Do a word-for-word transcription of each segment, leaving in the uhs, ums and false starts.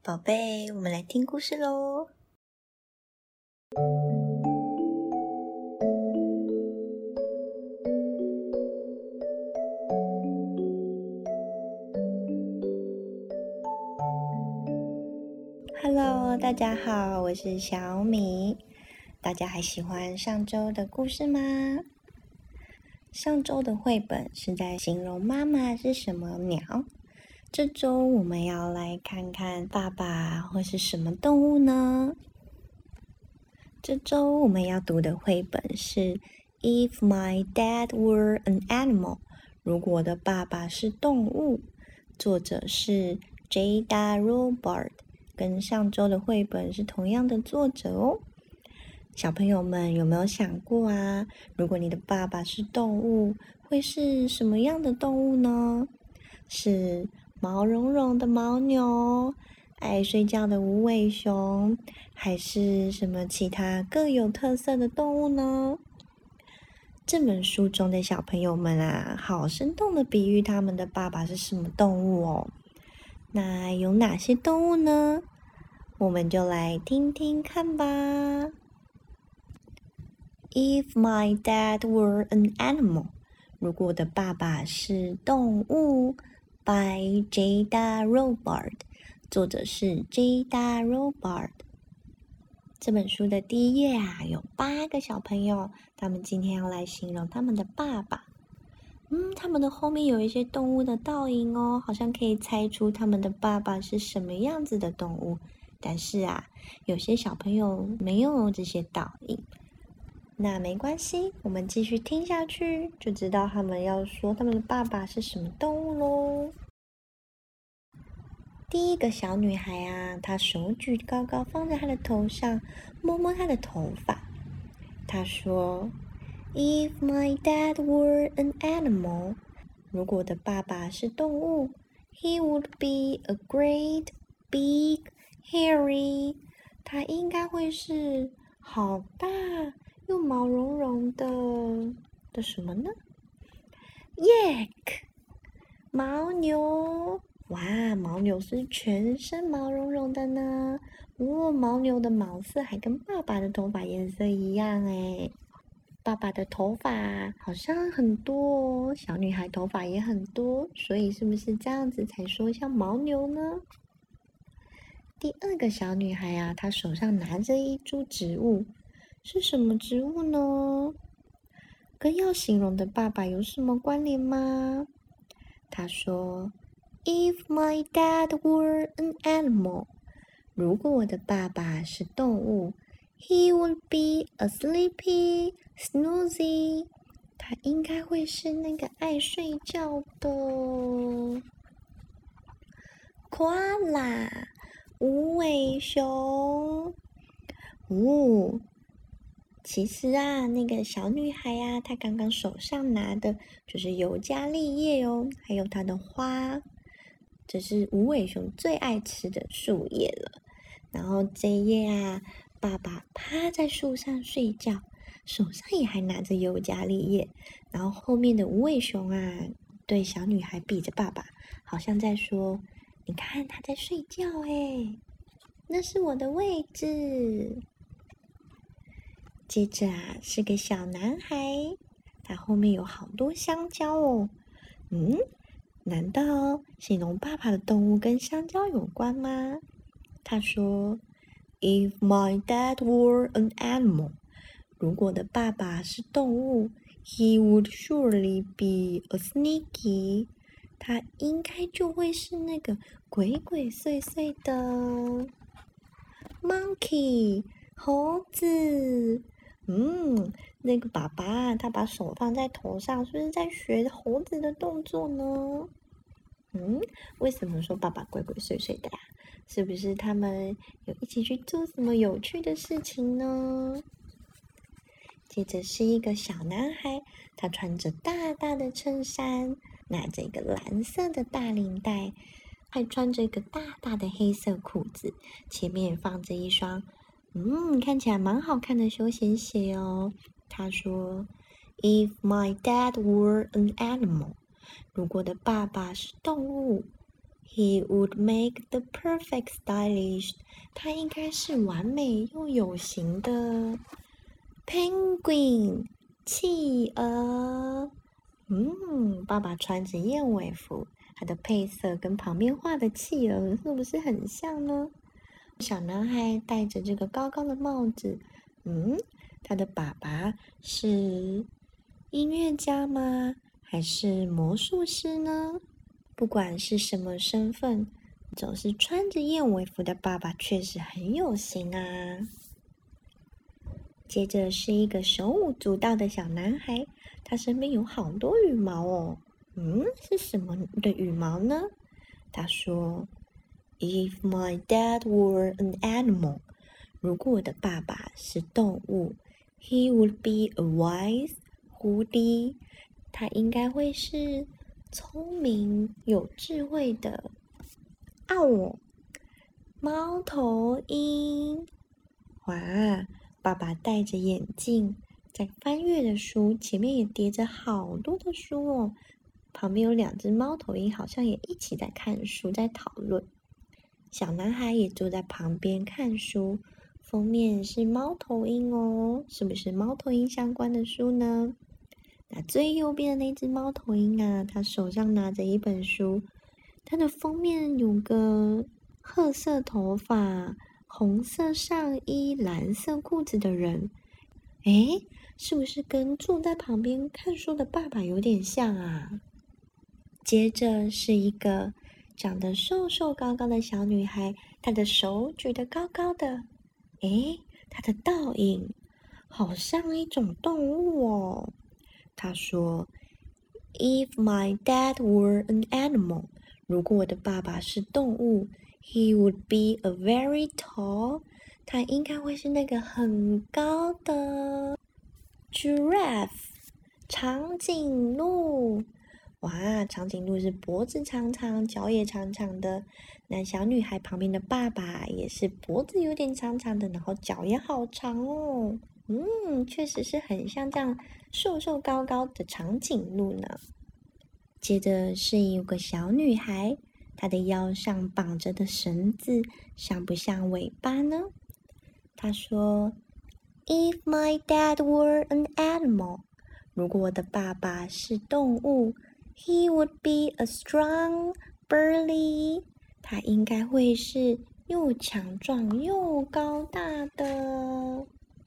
宝贝，我们来听故事喽。Hello， 大家好，我是小米。大家还喜欢上周的故事吗？上周的绘本是在形容妈妈是什么鸟，这周我们要来看看爸爸会是什么动物呢？这周我们要读的绘本是 If My Dad Were an Animal， 如果我的爸爸是动物，作者是 Jada Robards， 跟上周的绘本是同样的作者哦。小朋友们有没有想过啊？如果你的爸爸是动物，会是什么样的动物呢？是毛茸茸的牦牛，爱睡觉的无尾熊，还是什么其他各有特色的动物呢？这本书中的小朋友们啊，好生动的比喻他们的爸爸是什么动物哦。那有哪些动物呢？我们就来听听看吧。If my dad were an animal， 如果我的爸爸是动物 by Jada Robards， 作者是 Jada Robards。 这本书的第一页啊，有八个小朋友，他们今天要来形容他们的爸爸。嗯，他们的后面有一些动物的倒影哦，好像可以猜出他们的爸爸是什么样子的动物。但是啊，有些小朋友没有这些倒影。那没关系，我们继续听下去，就知道他们要说他们的爸爸是什么动物咯。第一个小女孩啊，她手举高高放在她的头上，摸摸她的头发。她说 If my dad were an animal， 如果我的爸爸是动物 He would be a great, big, hairy， 他应该会是好大又毛茸茸的的什么呢？ Yak， 牦牛。哇，牦牛是全身毛茸茸的呢。哦，牦牛的毛色还跟爸爸的头发颜色一样诶。爸爸的头发好像很多哦，小女孩头发也很多，所以是不是这样子才说像牦牛呢？第二个小女孩啊，她手上拿着一株植物，是什么植物呢？跟要形容的爸爸有什么关联吗？她说 If my dad were an animal， 如果我的爸爸是动物 He would be a sleepy, snoozy， 他应该会是那个爱睡觉的 koala， 无尾熊。哦，其实啊，那个小女孩啊，她刚刚手上拿的就是尤加利叶哦，还有它的花，这是无尾熊最爱吃的树叶了。然后这一页啊，爸爸趴在树上睡觉，手上也还拿着尤加利叶。然后后面的无尾熊啊，对小女孩比着爸爸，好像在说：“你看他在睡觉诶，那是我的位置。”接着啊，是个小男孩，他后面有好多香蕉哦。嗯，难道形容爸爸的动物跟香蕉有关吗？他说 If my dad were an animal， 如果我的爸爸是动物 He would surely be a sneaky， 他应该就会是那个鬼鬼祟祟的 monkey， 猴子。嗯，那个爸爸他把手放在头上，是不是在学猴子的动作呢？嗯，为什么说爸爸鬼鬼祟祟的呀？是不是他们有一起去做什么有趣的事情呢？接着是一个小男孩，他穿着大大的衬衫，拿着一个蓝色的大领带，还穿着一个大大的黑色裤子，前面放着一双嗯，看起来蛮好看的休闲鞋哦。他说 If my dad were an animal， 如果我的爸爸是动物 He would make the perfect stylish. 他应该是完美又有型的 penguin 企鹅。嗯，爸爸穿着燕尾服，它的配色跟旁边画的企鹅是不是很像呢？小男孩戴着这个高高的帽子，嗯，他的爸爸是音乐家吗？还是魔术师呢？不管是什么身份，总是穿着燕尾服的爸爸确实很有型啊。接着是一个手舞足蹈的小男孩，他身边有好多羽毛哦。嗯，是什么的羽毛呢？他说 ：“If my dad were an animal， 如果我的爸爸是动物 ，he would be a wise 狐狸，他应该会是聪明有智慧的哦，猫头鹰。”哇！爸爸戴着眼镜，在翻阅的书，前面也叠着好多的书哦。旁边有两只猫头鹰，好像也一起在看书，在讨论。小男孩也坐在旁边看书，封面是猫头鹰哦，是不是猫头鹰相关的书呢？那最右边的那只猫头鹰啊，它手上拿着一本书，它的封面有个褐色头发、红色上衣、蓝色裤子的人，诶，是不是跟坐在旁边看书的爸爸有点像啊？接着是一个长得瘦瘦高高的小女孩，她的手举得高高的，诶，她的倒影好像一种动物哦。她说 ：“If my dad were an animal， 如果我的爸爸是动物 ，he would be a very tall， 他应该会是那个很高的 giraffe， 长颈鹿。”哇，长颈鹿是脖子长长，脚也长长的。那小女孩旁边的爸爸也是脖子有点长长的，然后脚也好长哦。嗯，确实是很像这样瘦瘦高高的长颈鹿呢。接着是有个小女孩，她的腰上绑着的绳子像不像尾巴呢？她说 ：“If my dad were an animal， 如果我的爸爸是动物。”He would be a strong burly， 他应该会是又强壮又高大的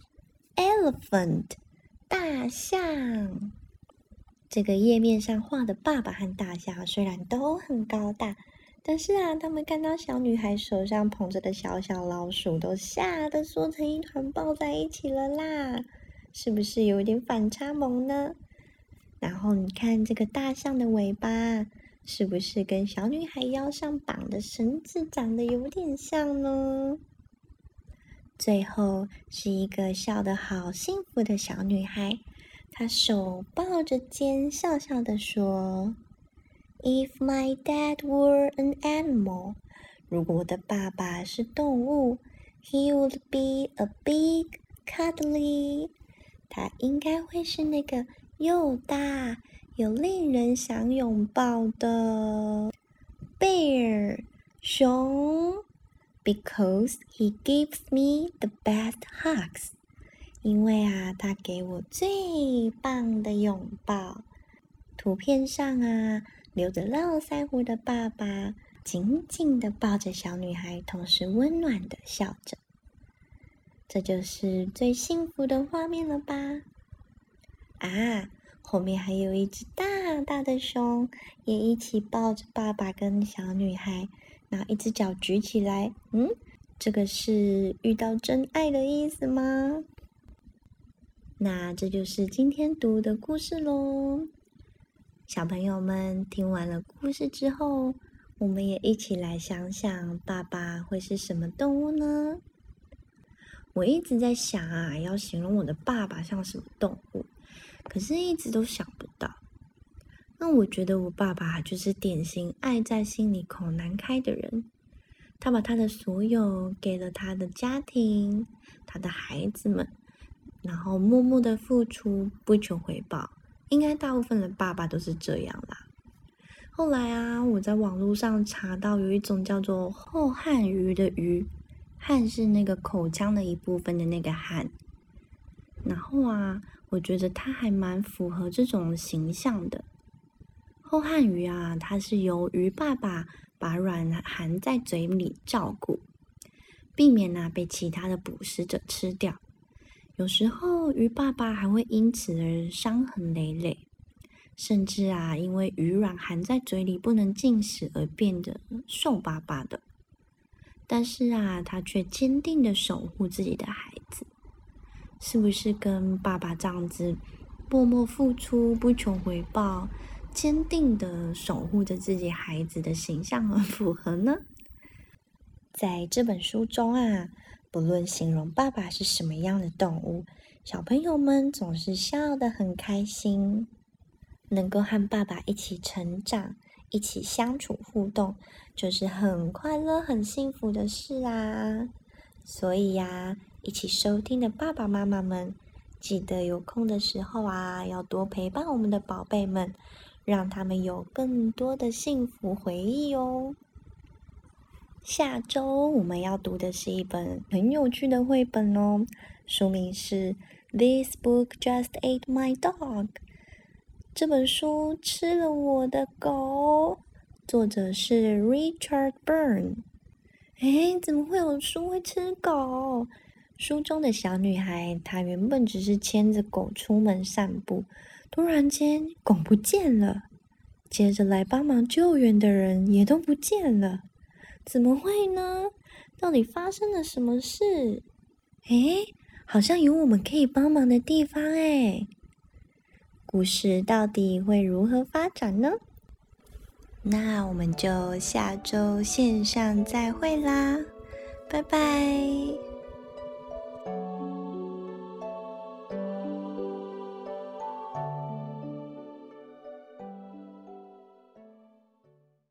elephant， 大象。这个页面上画的爸爸和大象虽然都很高大，但是啊，他们看到小女孩手上捧着的小小老鼠，都吓得缩成一团抱在一起了啦，是不是有点反差萌呢？然后你看这个大象的尾巴，是不是跟小女孩腰上绑的绳子长得有点像呢？最后是一个笑得好幸福的小女孩，她手抱着肩，笑笑地说 ：“If my dad were an animal， 如果我的爸爸是动物 ，he would be a big cuddly， 他应该会是那个又大又令人想拥抱的 bear 熊 ，because he gives me the best hugs， 因为啊，他给我最棒的拥抱。图片上啊，留着络腮胡的爸爸紧紧地抱着小女孩，同时温暖地笑着。这就是最幸福的画面了吧？啊，后面还有一只大大的熊，也一起抱着爸爸跟小女孩，然后一只脚举起来。嗯，这个是遇到真爱的意思吗？那这就是今天读的故事咯。小朋友们听完了故事之后，我们也一起来想想，爸爸会是什么动物呢？我一直在想啊，要形容我的爸爸像什么动物，可是一直都想不到。那我觉得我爸爸就是典型爱在心里口难开的人，他把他的所有给了他的家庭，他的孩子们，然后默默的付出，不求回报。应该大部分的爸爸都是这样啦。 后来啊，我在网络上查到有一种叫做后汉鱼的鱼，汉是那个口腔的一部分的那个汉。然后啊，我觉得它还蛮符合这种形象的。后汉鱼啊，它是由鱼爸爸把卵含在嘴里照顾，避免啊被其他的捕食者吃掉。有时候鱼爸爸还会因此而伤痕累累，甚至啊因为鱼卵含在嘴里不能进食而变得瘦巴巴的。但是啊，他却坚定的守护自己的孩子。是不是跟爸爸这样子默默付出、不求回报、坚定的守护着自己孩子的形象很符合呢？在这本书中啊，不论形容爸爸是什么样的动物，小朋友们总是笑得很开心。能够和爸爸一起成长、一起相处互动，就是很快乐、很幸福的事啊。所以呀，一起收听的爸爸妈妈们，记得有空的时候啊，要多陪伴我们的宝贝们，让他们有更多的幸福回忆哦。下周我们要读的是一本很有趣的绘本哦，书名是《This Book Just Ate My Dog》。这本书吃了我的狗，作者是 Richard Byrne。诶，怎么会有书会吃狗？书中的小女孩，她原本只是牵着狗出门散步，突然间狗不见了，接着来帮忙救援的人也都不见了。怎么会呢？到底发生了什么事？诶，好像有我们可以帮忙的地方诶。故事到底会如何发展呢？那我们就下周线上再会啦，拜拜。